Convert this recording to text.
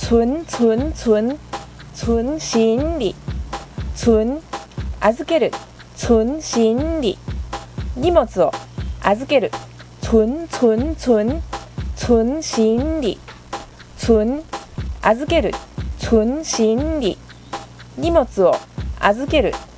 存心理預ける存心理荷物を預ける存心理預ける存心理荷物を預ける